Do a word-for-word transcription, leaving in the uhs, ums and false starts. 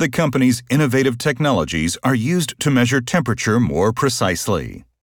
The company's innovative technologies are used to measure temperature more precisely.